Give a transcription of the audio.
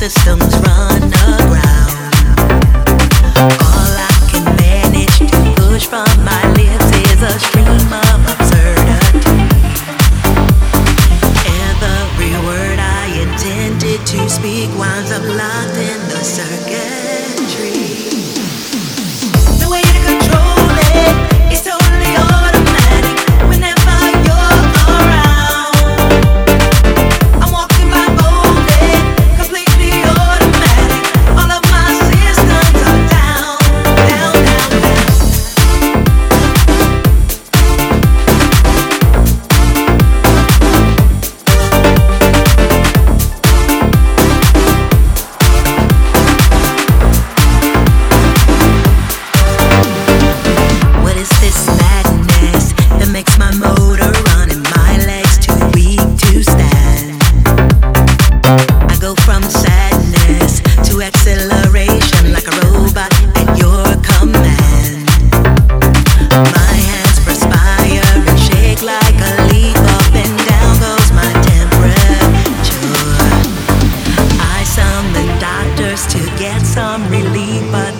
systems run aground. All I can manage to push from my lips is a stream of absurdity. Every word I intended to speak winds up locked in the circuitry. The way to control it is totally automatic. Whenever you're around, I'm walking by boldly, completely automatic. All of my systems are down, down, down, down. What is this madness that makes my motor run and my legs too weak to stand? I go from sadness to acceleration like a robot at your command. My hands perspire and shake like a leaf. Up and down goes my temperature. I summon doctors to get some relief, but